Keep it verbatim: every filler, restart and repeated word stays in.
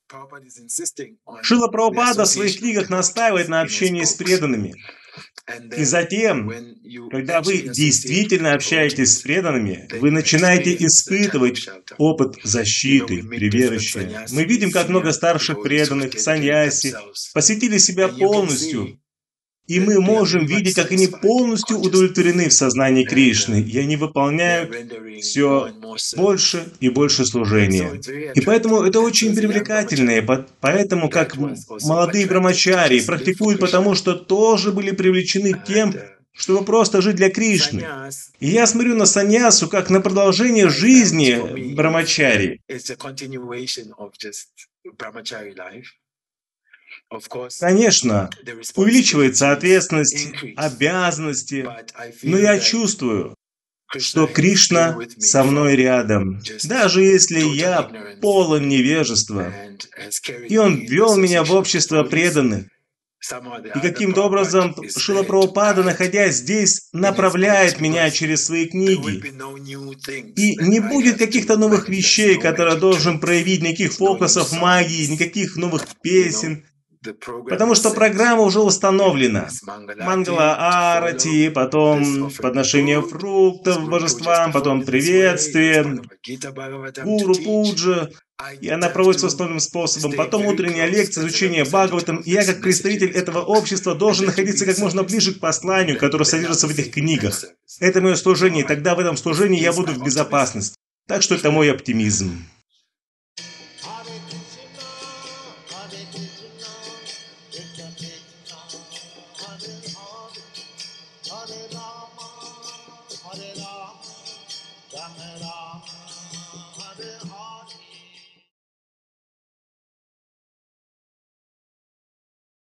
Шрила Прабхупада в своих книгах настаивает на общении с преданными. И затем, когда вы действительно общаетесь с преданными, вы начинаете испытывать опыт защиты, прибежища. Мы видим, как много старших преданных, саньяси, посвятили себя полностью. И мы можем видеть, как они полностью удовлетворены в сознании Кришны, и они выполняют все больше и больше служения. И поэтому это очень привлекательно, и поэтому как молодые брамачари практикуют, потому что тоже были привлечены тем, чтобы просто жить для Кришны. И я смотрю на саньясу как на продолжение жизни брамачари. Конечно, увеличивается ответственность, обязанности, но я чувствую, что Кришна со мной рядом, даже если я полон невежества. И Он ввел меня в общество преданных. И каким-то образом Шрила Прабхупада, находясь здесь, направляет меня через свои книги. И не будет каких-то новых вещей, которые я должен проявить, никаких фокусов магии, никаких новых песен. Потому что программа уже установлена. Мангала Арати, потом подношение фруктов божествам, потом приветствие, Гуру Пуджа. И она проводится основным способом. Потом утренняя лекция, изучение Бхагаватам. И я, как представитель этого общества, должен находиться как можно ближе к посланию, которое содержится в этих книгах. Это мое служение, и тогда в этом служении я буду в безопасности. Так что это мой оптимизм. Hare Rama, Hare Rama, Rama Rama, Hare Hare.